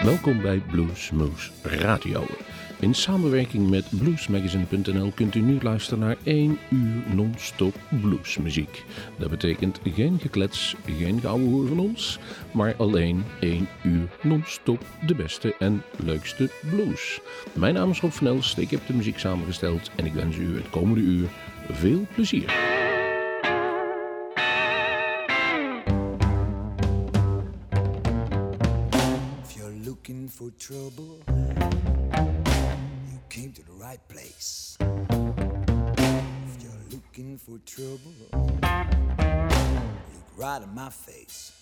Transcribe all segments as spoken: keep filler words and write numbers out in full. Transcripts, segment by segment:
Welkom bij Bluesmoose Radio. In samenwerking met bluesmagazine punt n l kunt u nu luisteren naar één uur non-stop bluesmuziek. Dat betekent geen geklets, geen gouden hoer van ons, maar alleen één uur non-stop de beste en leukste blues. Mijn naam is Rob van Elst, ik heb de muziek samengesteld en ik wens u het komende uur veel plezier. Looking for trouble, you came to the right place. If you're looking for trouble, look right in my face.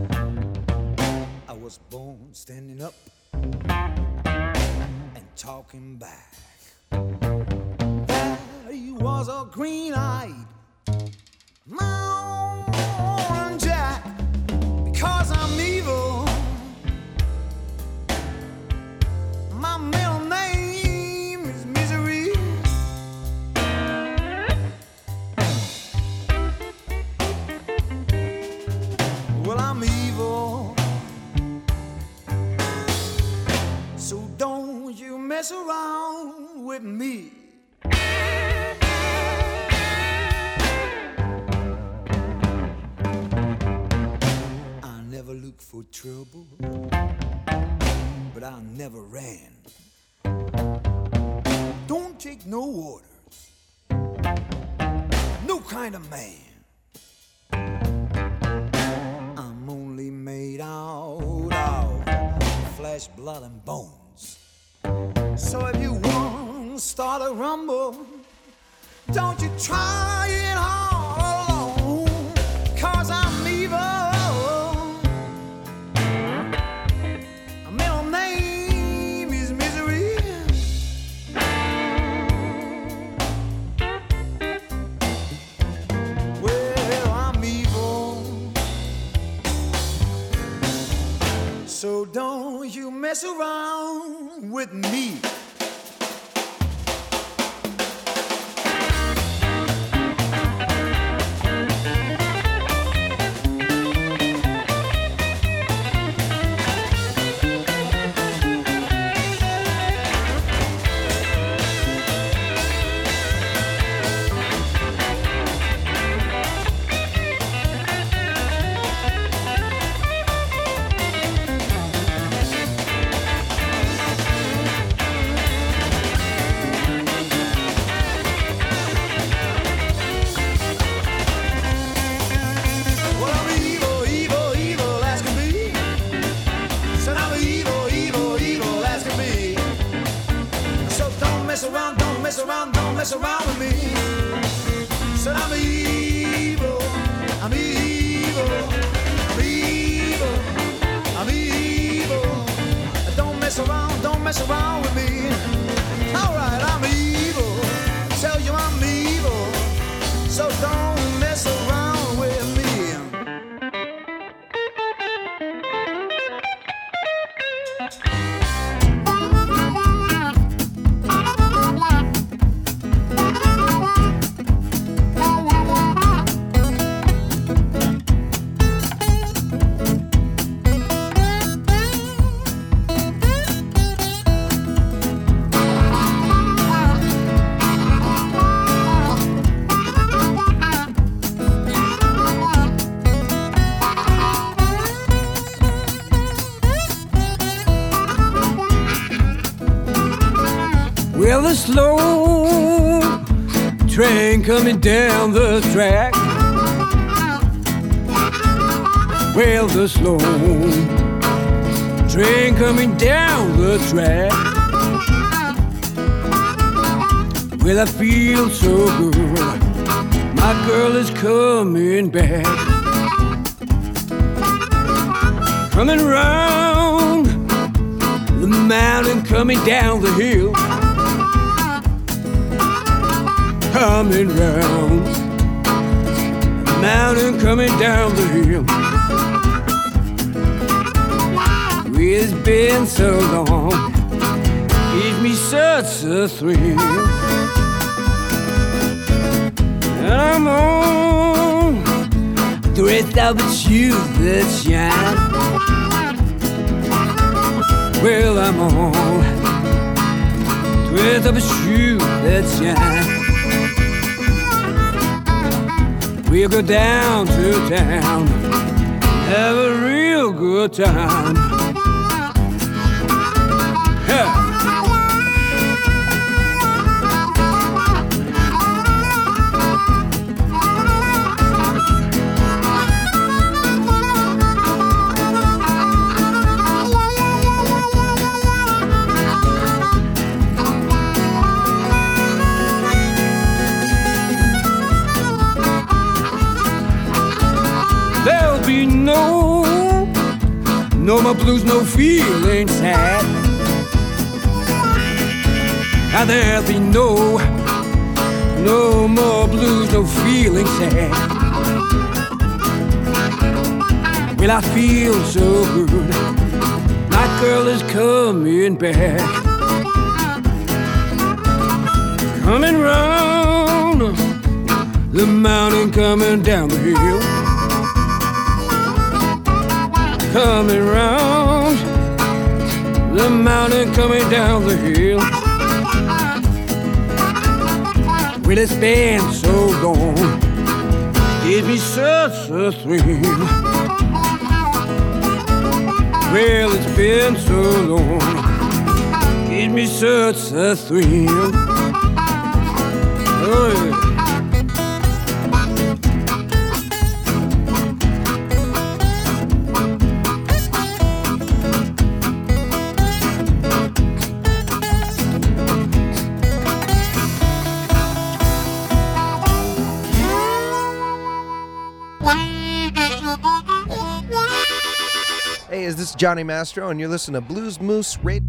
I was born standing up and talking back. There was a green-eyed Mountain Jack, because I'm evil. My middle name is Misery. Well, I'm evil, so don't you mess around with me. I never look for trouble, but I never ran. Don't take no orders, no kind of man. I'm only made out of flesh, blood, and bones. So if you want to start a rumble, don't you try it all alone, 'cause I'm evil. So don't you mess around with me. Mess around with me. Said I'm evil, I'm evil, I'm evil, I'm evil. Don't mess around, don't mess around with me. Alright, I'm evil, tell you I'm evil, so don't mess around with me. Well, the slow train coming down the track. Well, the slow train coming down the track. Well, I feel so good. My girl is coming back. Coming round the mountain, coming down the hill. Coming round the mountain, coming down the hill. It's been so long, gives me such a thrill. And I'm on the red velvet shoes that shine. Well, I'm on twist up a shoe that shine. We'll go down to town, have a real good time. Yeah. There'll be no, no more blues, no feeling sad. And there'll be no, no more blues, no feeling sad. Well, I feel so good, my girl is coming back. Coming round the mountain, coming down the hill. Coming round the mountain, coming down the hill. Well, it's been so long, gives me such a thrill. Well, it's been so long, gives me such a thrill. Oh, yeah. Hey, is this Johnny Mastro, and you're listening to Blues Moose Radio.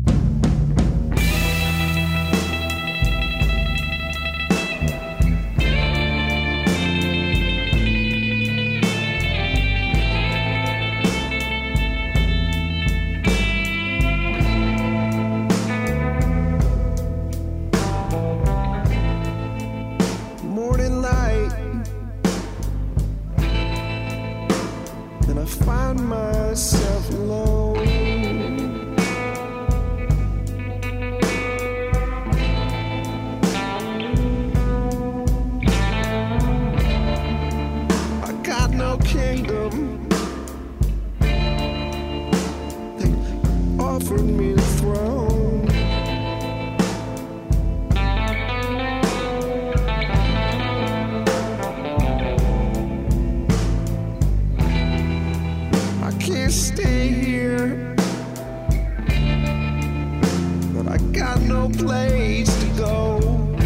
Morning light, then I find myself alone. I got no kingdom, they offered me the throne. I can't stay here, but I got no place to go.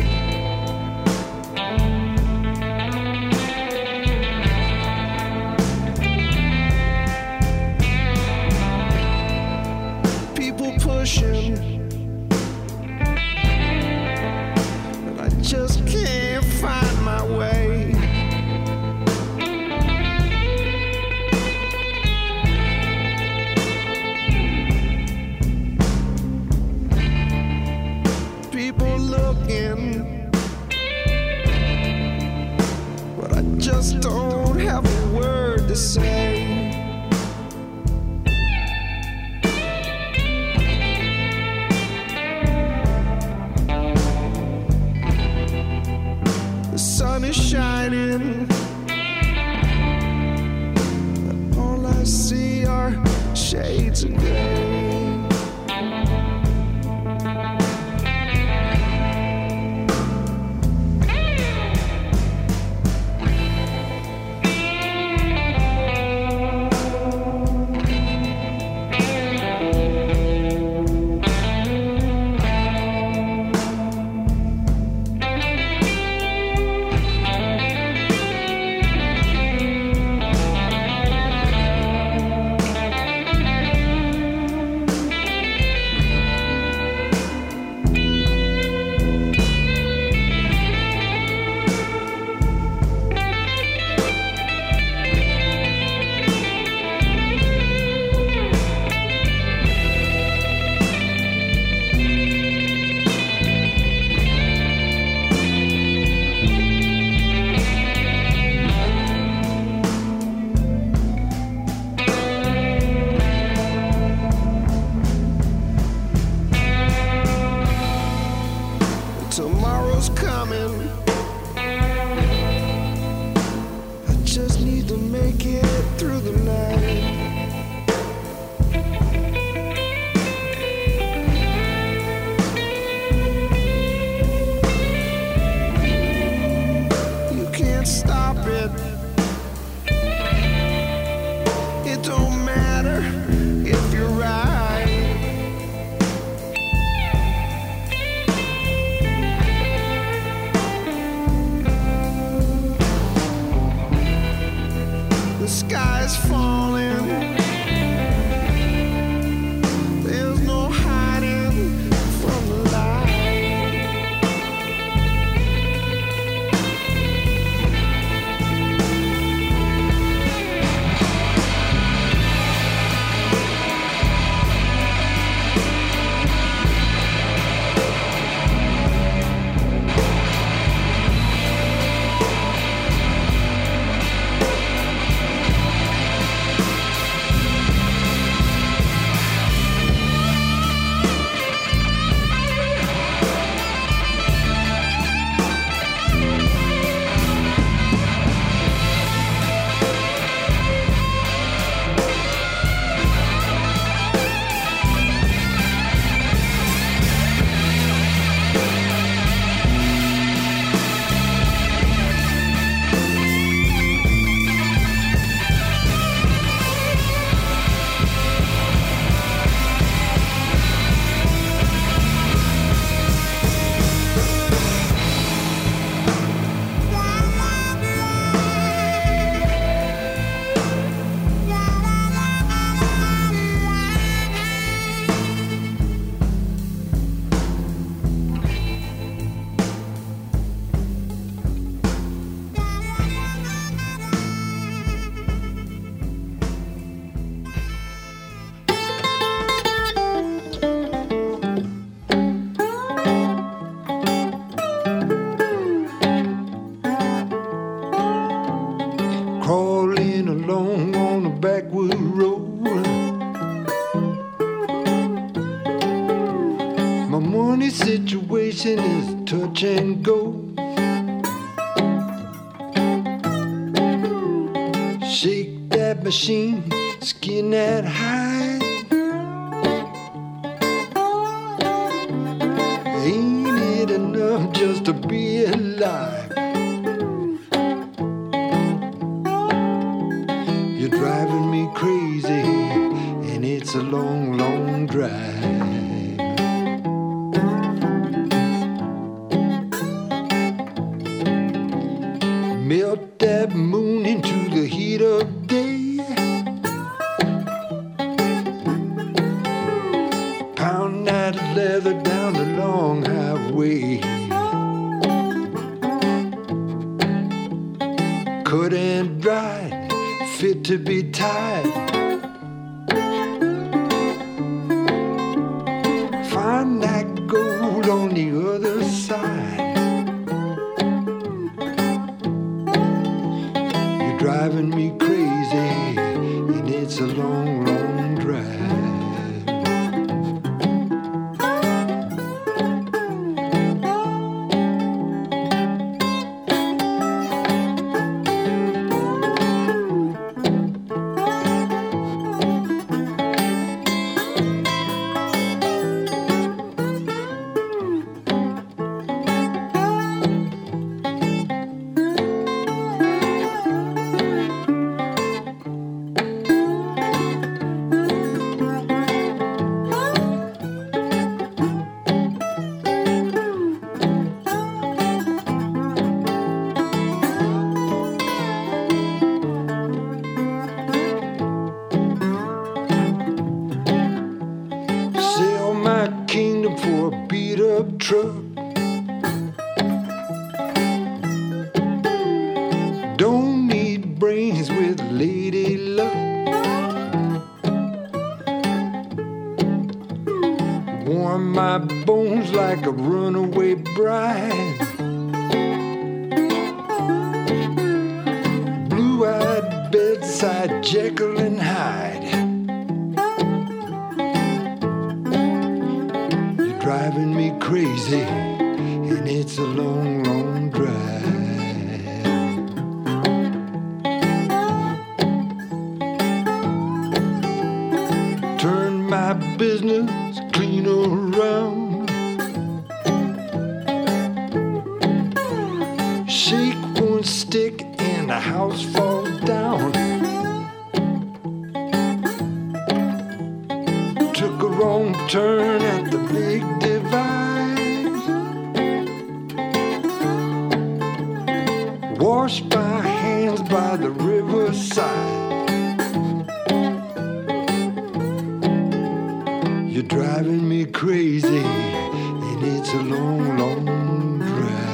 People pushing, but I just can't find my way. People looking, but I just don't have a word to say. The sun is shining, but all I see are shades of gray. situation is touch and go. Shake that machine, skin that hide. Ain't it enough just to be alive? You're driving me crazy, and it's a long, long drive. Melt that moon into the heat of day. Pound that leather down the long highway. Cut and dried, fit to be tied. Find that gold on the other side. Driving me crazy, and it's a long, long drive. Don't need brains with lady luck. Warm my bones like a runaway bride. Blue-eyed bedside Jekyll and Hyde. You're driving me crazy, and it's a long, long drive. Turn my business clean around. Shake one stick and the house falls down. Took a wrong turn at the big divide. Washed my hands by the riverside. You're driving me crazy, and it's a long, long drive.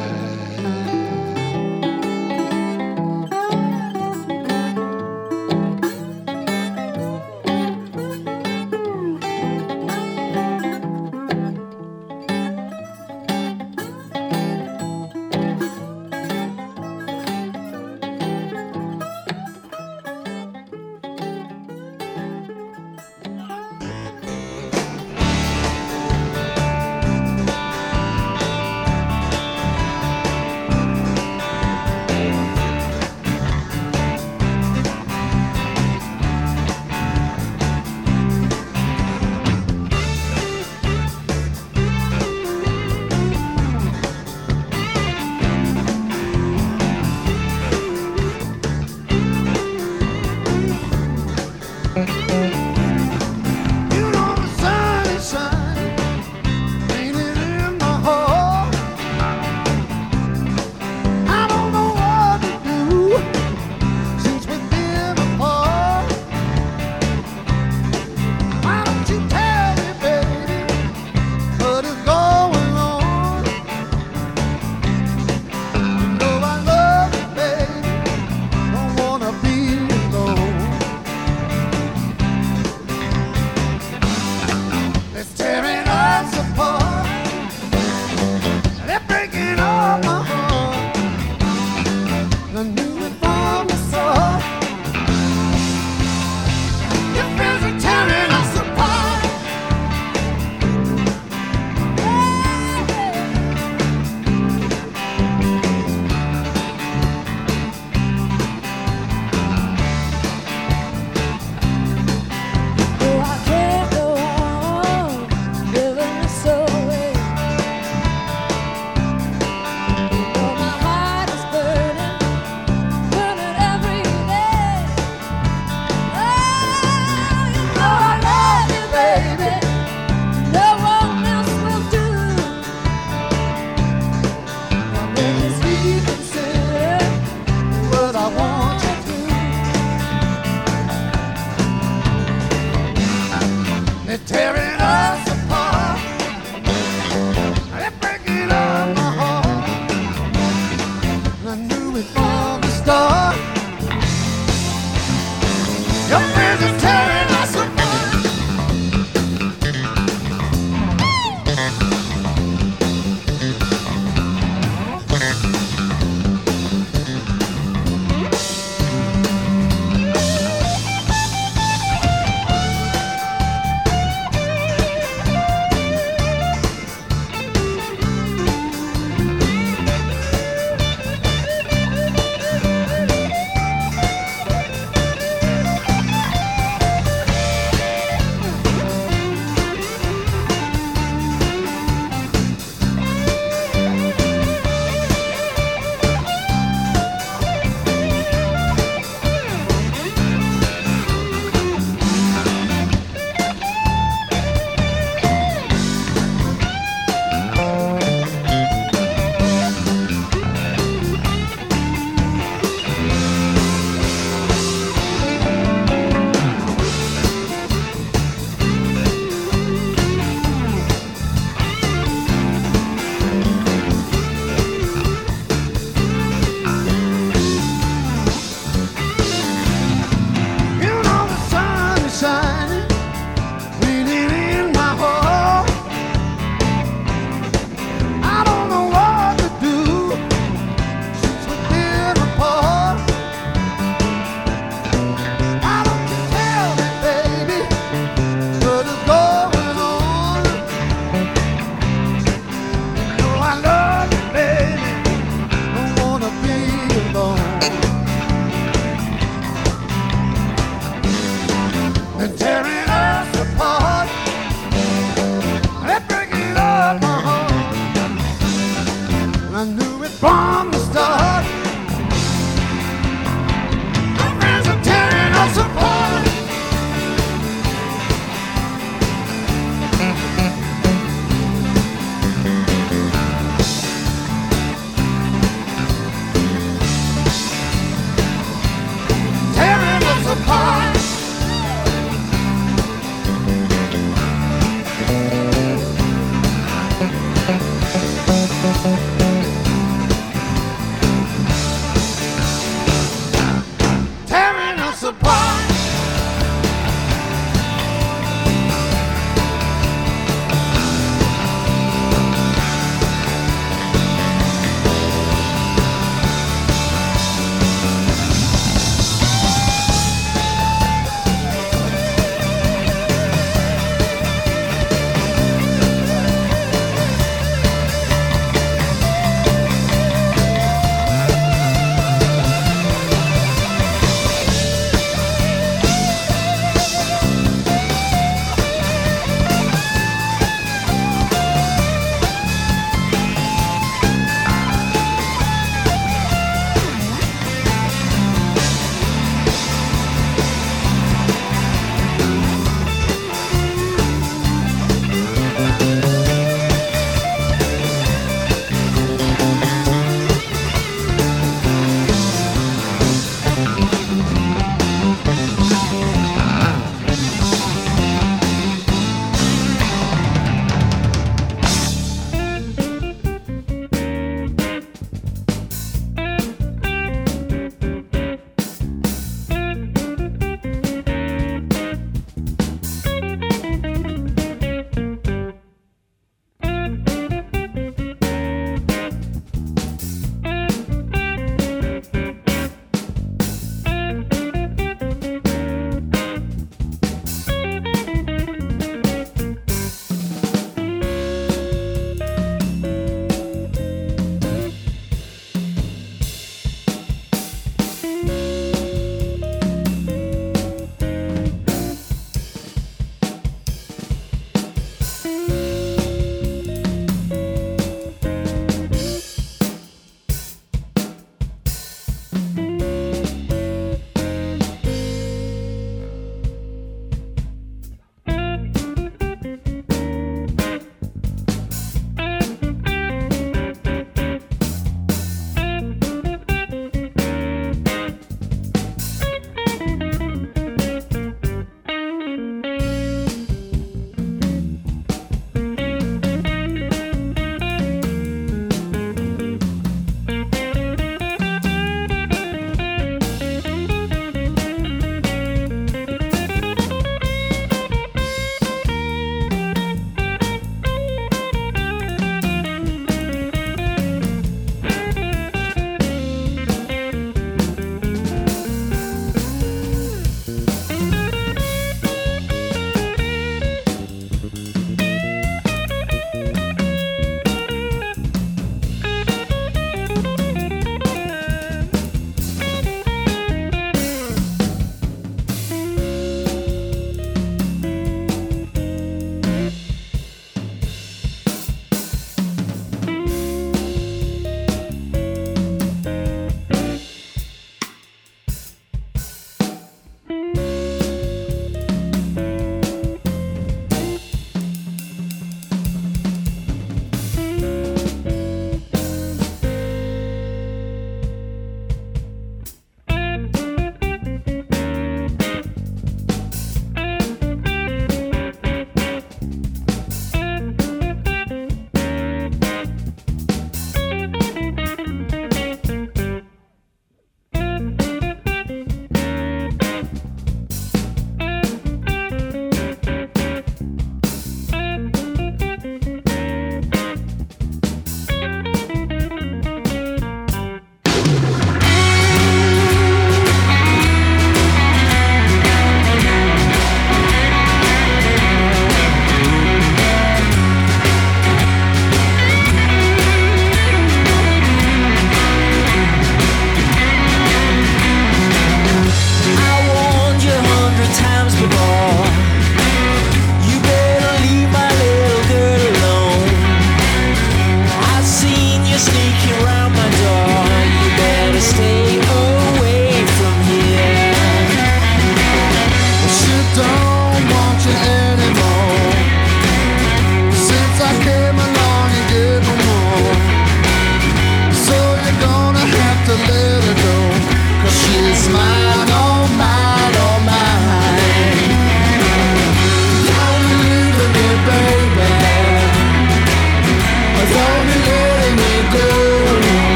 They're tearing us apart. They're breaking up my heart. I knew it from the start. Your friends are tearing us apart.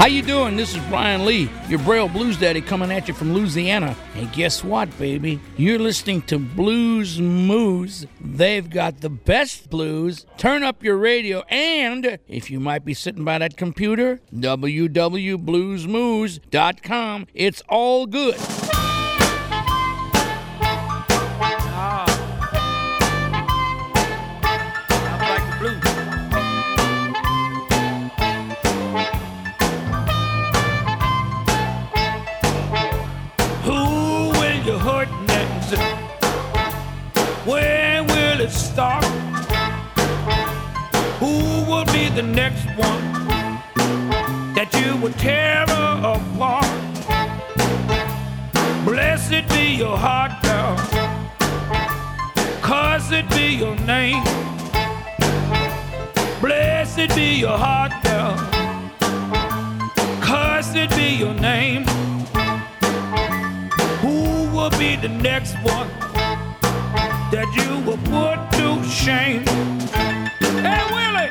How you doing? This is Brian Lee, your Braille Blues Daddy, coming at you from Louisiana. And guess what, baby? You're listening to Blues Moose. They've got the best blues. Turn up your radio, and if you might be sitting by that computer, w w w dot blues moose dot com. It's all good. Where will it start? Who will be the next one that you will tear apart? Blessed be your heart, girl. Cursed be your name. Blessed be your heart, girl. Cursed be your name. Who will be the next one that you will put to shame? Hey, Willie!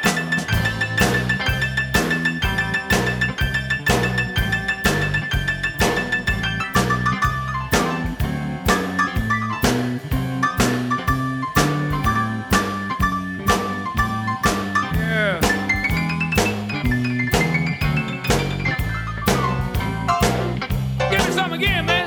Yeah. Give me some again, man.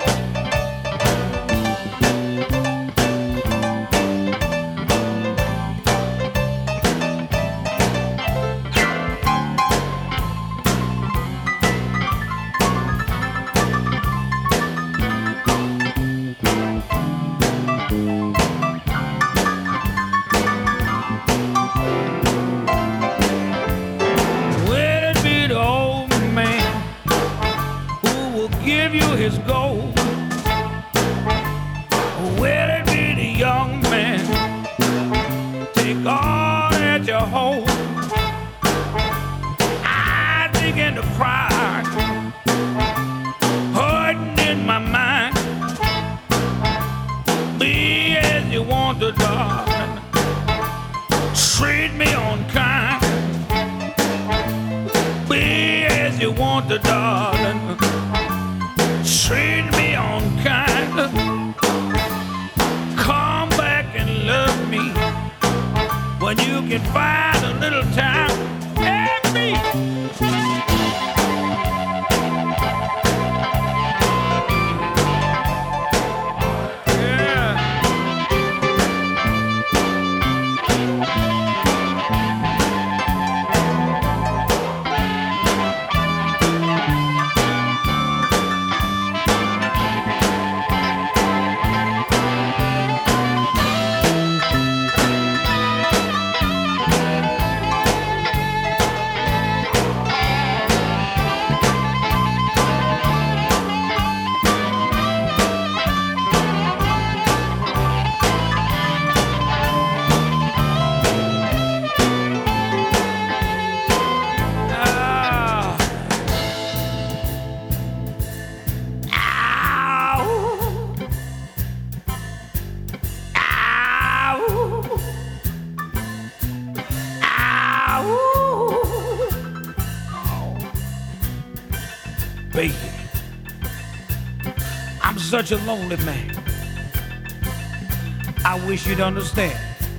His gold. Will it be the young man? Take all that you hold. I begin to cry, hurting in my mind. Be as you want to, darling. Treat me unkind. Be as you want to, darling. Treat me unkind. Come back and love me when you can find a little time. And me. Yeah. Baby, I'm such a lonely man. I wish you'd understand.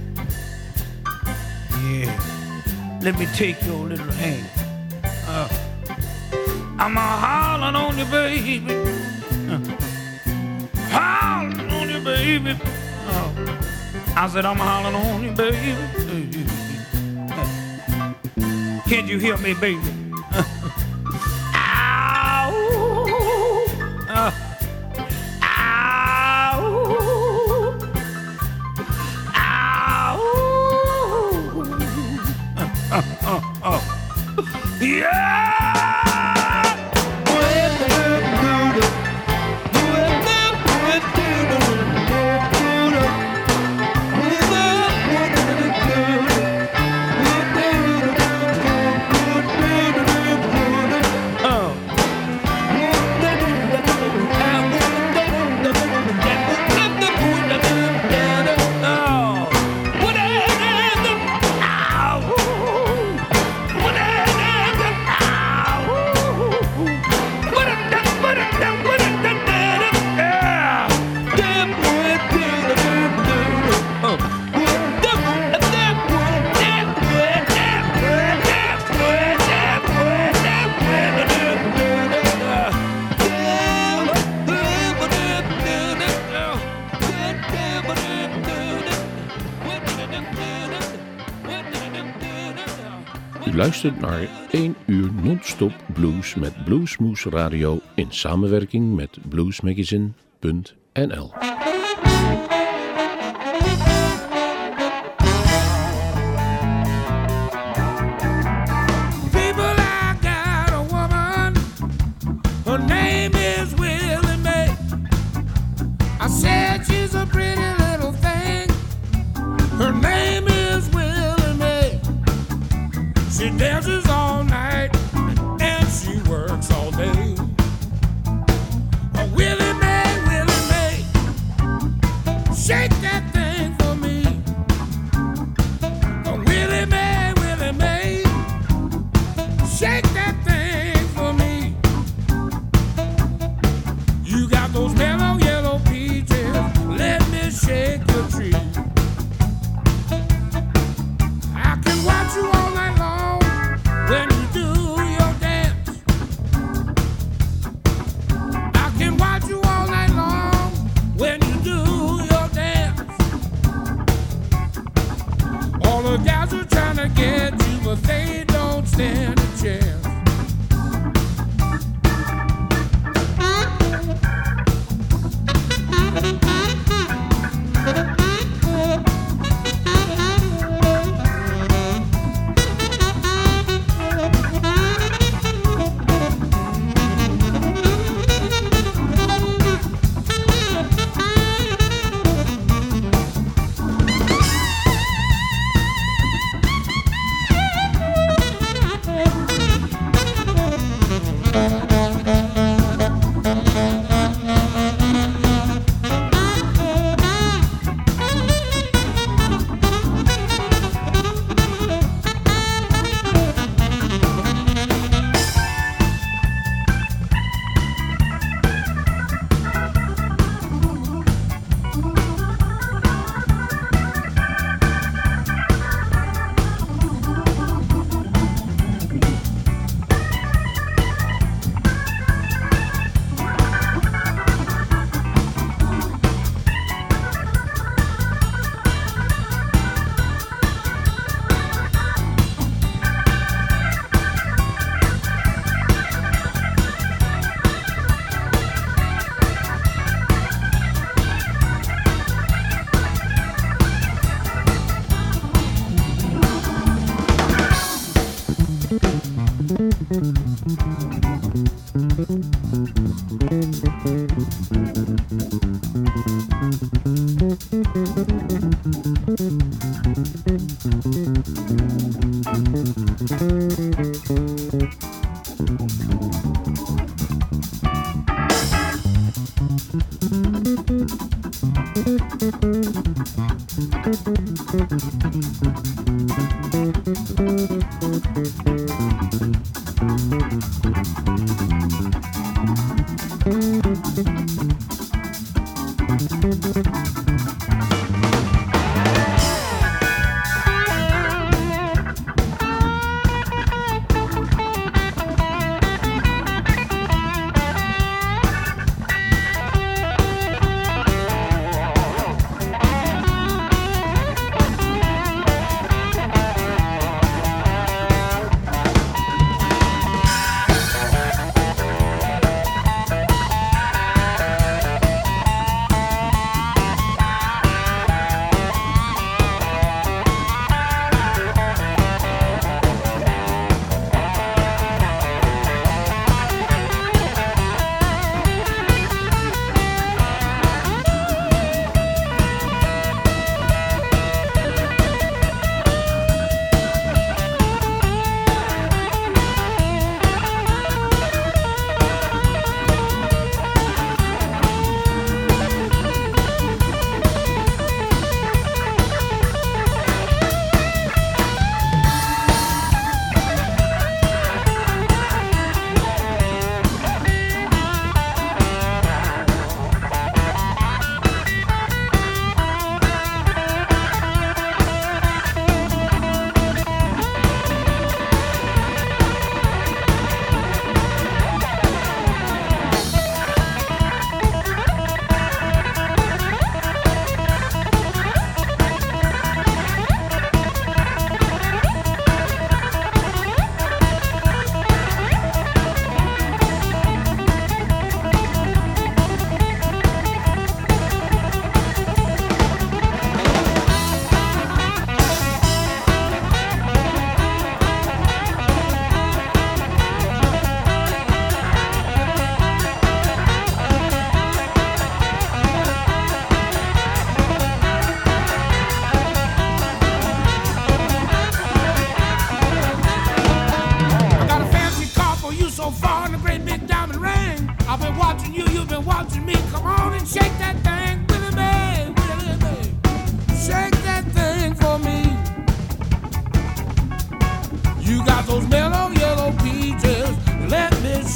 Yeah, let me take your little hand. Uh, I'm a hollering on you, baby. Uh, hollering on you, baby. Uh, I said I'm hollering on you, baby. Uh, can't you hear me, baby? Uh, ow, ow, uh, uh, uh, yeah. luistert naar één uur non-stop blues met Bluesmoose Radio in samenwerking met bluesmagazine punt n l. She dances all night and she works all day. Oh, Willie Mae, Willie Mae, shake that thing for me. Oh, Willie Mae, Willie Mae, shake that thing for me. You got those mellow yellow peaches, let me shake your tree. I can watch you all night long when you do your dance. I can watch you all night long when you do your dance. All the guys are trying to get you, but they don't stand a chance.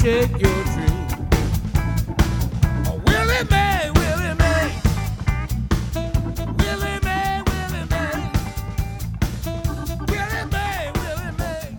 shake your tree. Oh, Willie Mae, Willie Mae, Willie Mae, Willie Mae, Willie Mae, Willie Mae.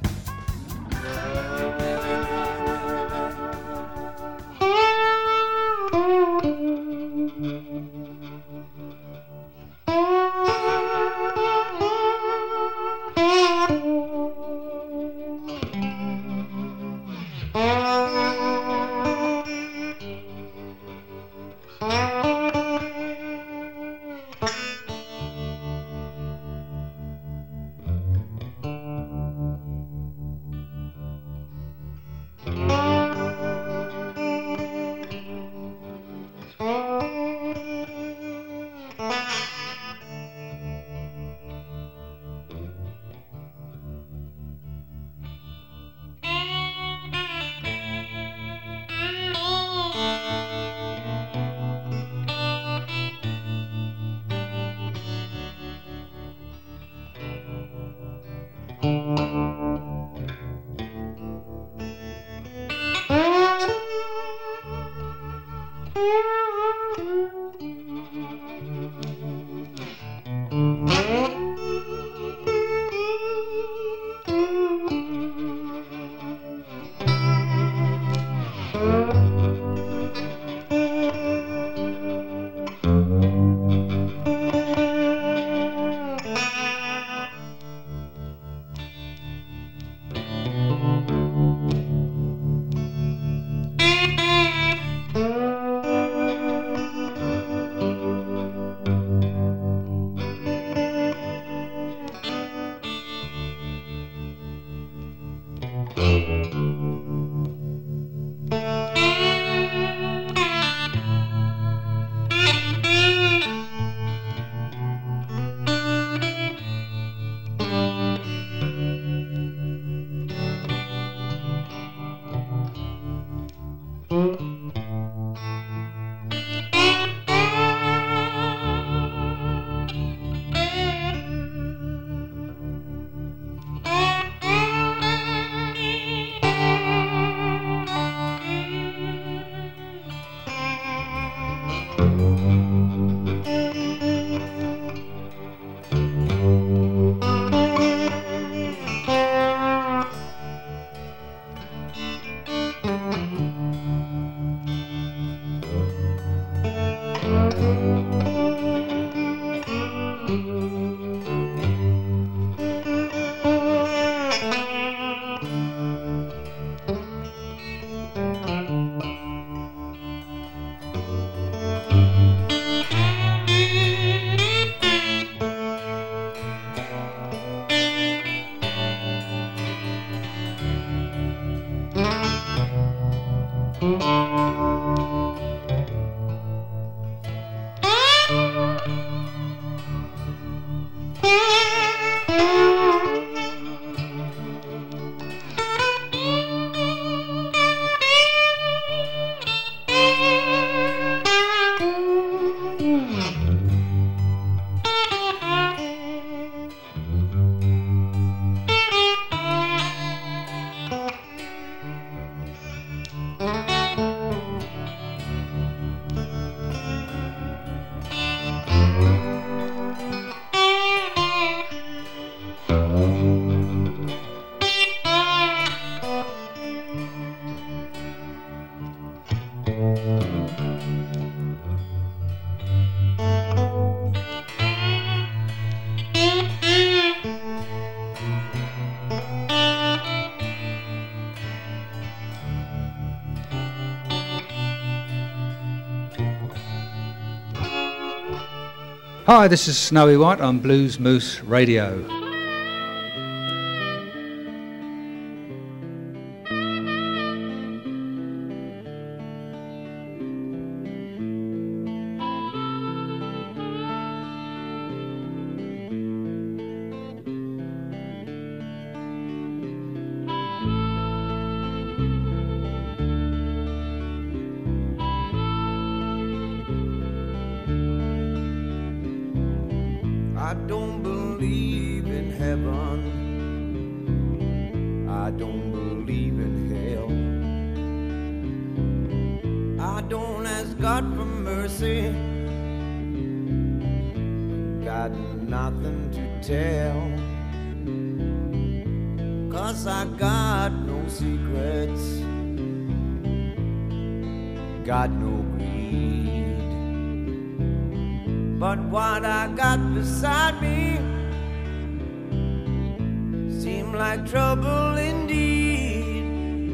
Hi, this is Snowy White on Blues Moose Radio. I don't believe in don't ask God for mercy. Got nothing to tell, 'cause I got no secrets, got no greed. But what I got beside me seemed like trouble indeed.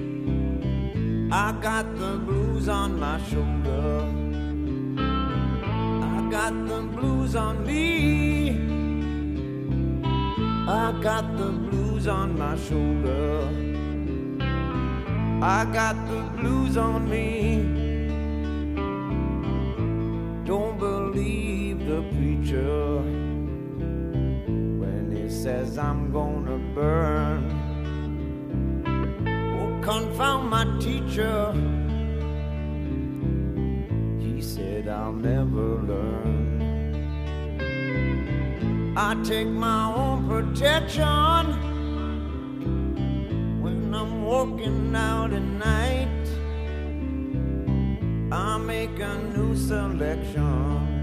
I got the blues on my shoulder, I got the blues on me, I got the blues on my shoulder, I got the blues on me. Don't believe the preacher when he says I'm gonna burn. Oh, confound my teacher, he said I'll never learn. I take my own protection when I'm walking out at night. I make a new selection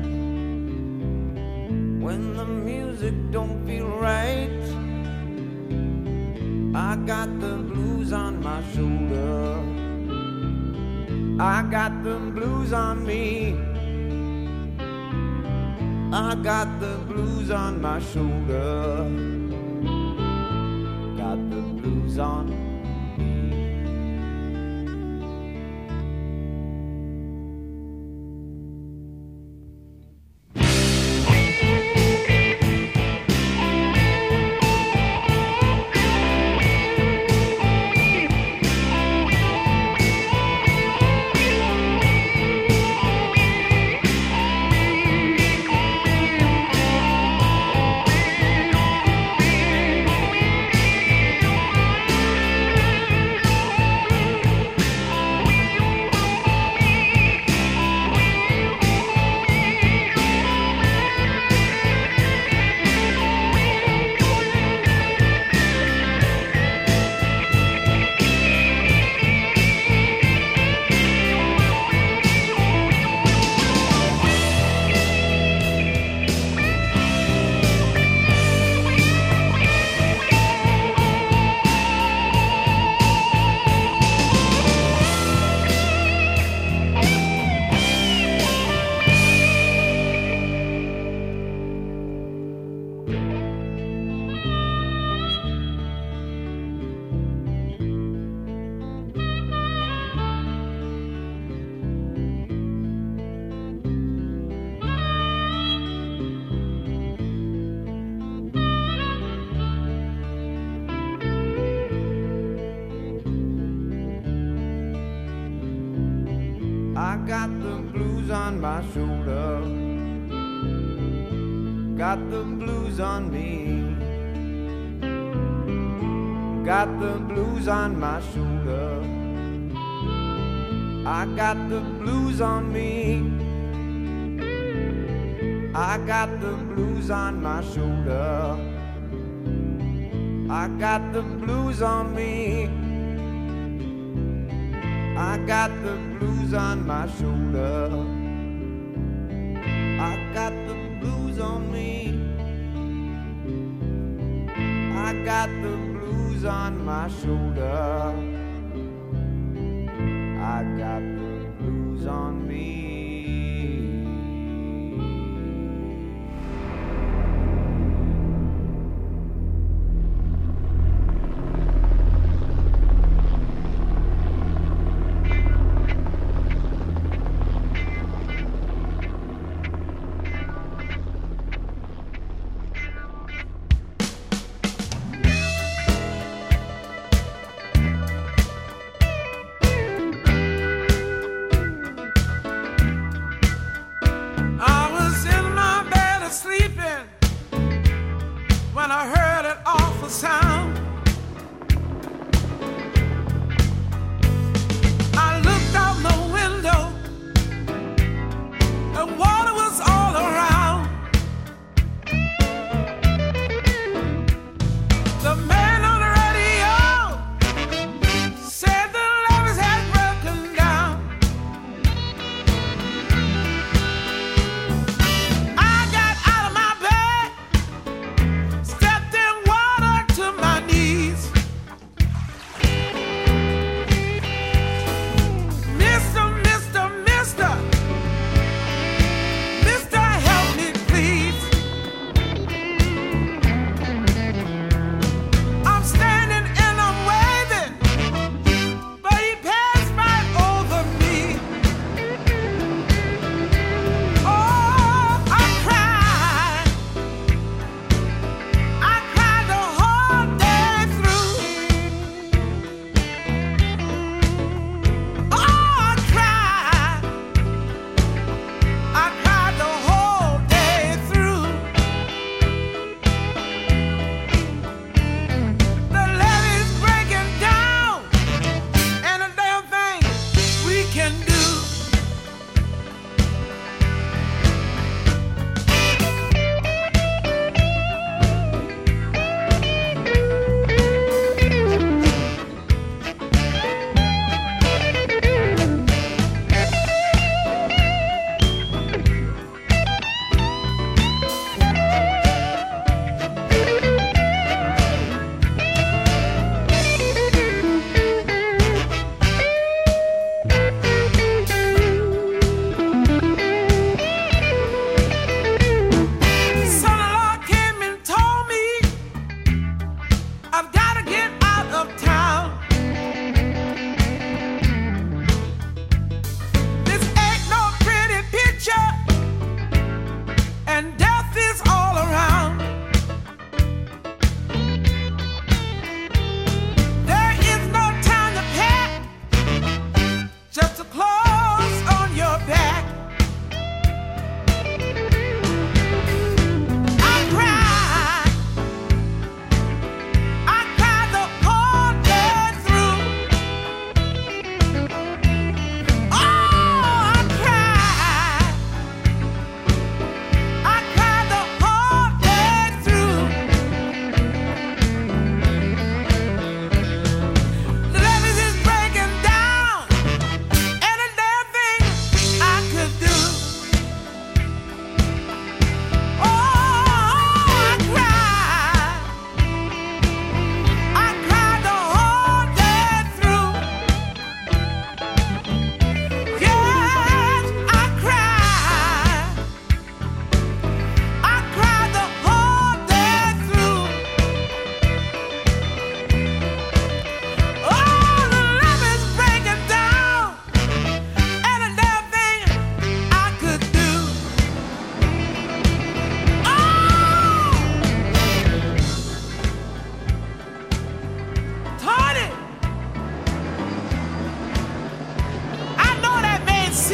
when the music don't feel right. I got the blues on my shoulder, I got the blues on me, I got the blues on my shoulder, got the blues on me. I got the blues on my shoulder, got the blues on me, got the blues on my shoulder, I got the blues on me, I got the blues on my shoulder, I got the blues on me, I got the blues on my shoulder, I got the blues on me, I got the blues on my shoulder, I got the blues on me.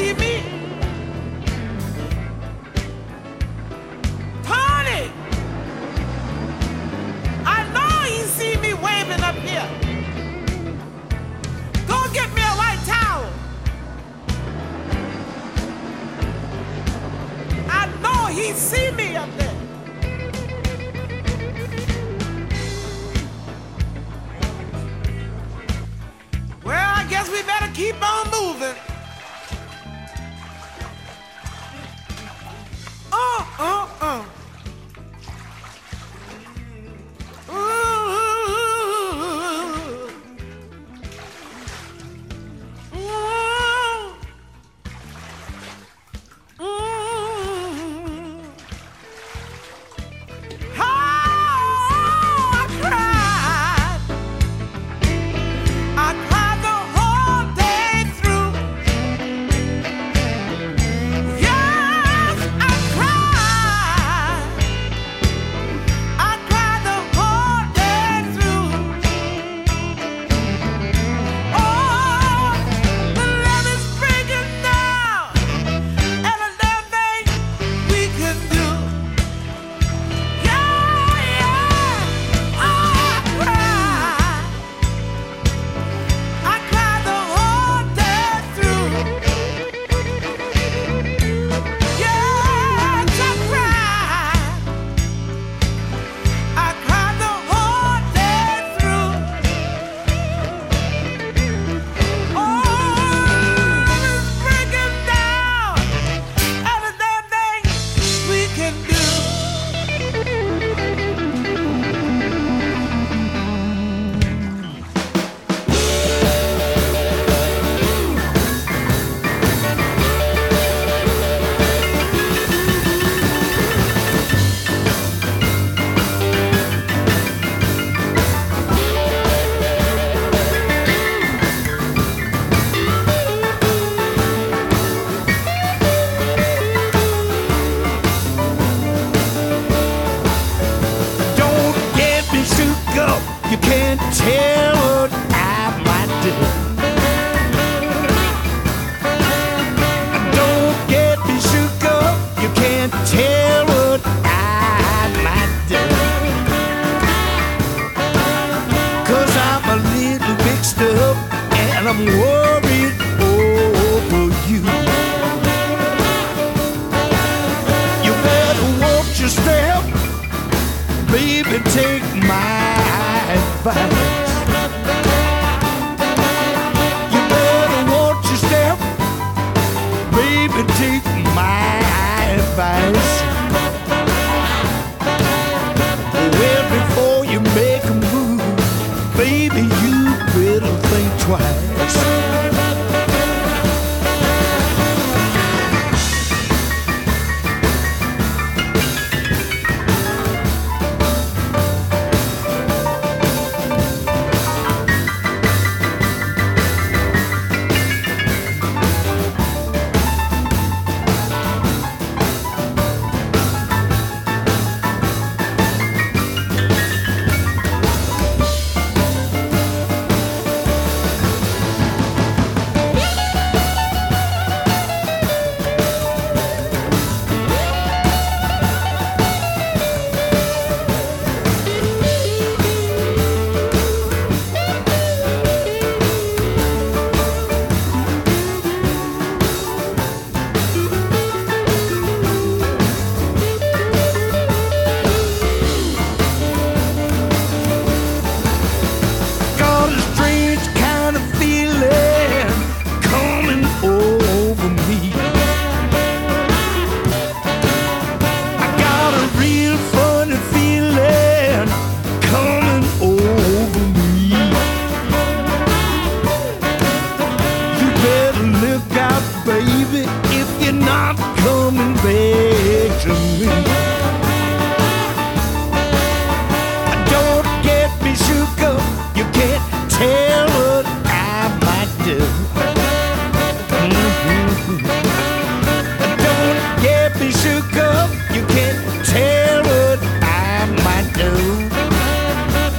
see me. Tony, I know he see me waving up here. Go get me a white towel. I know he see me up there. Well, I guess we better keep on moving. Uh, uh, uh.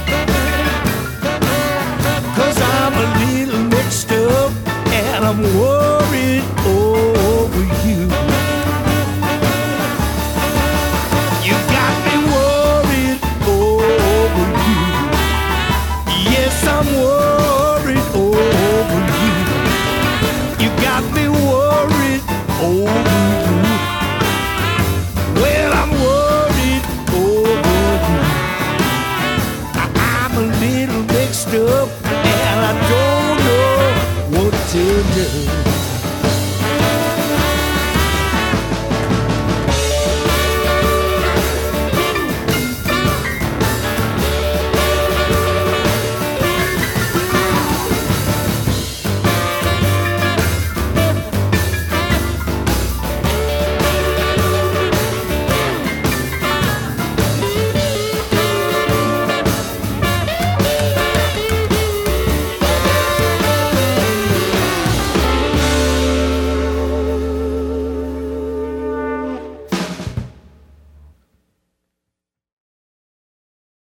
I'm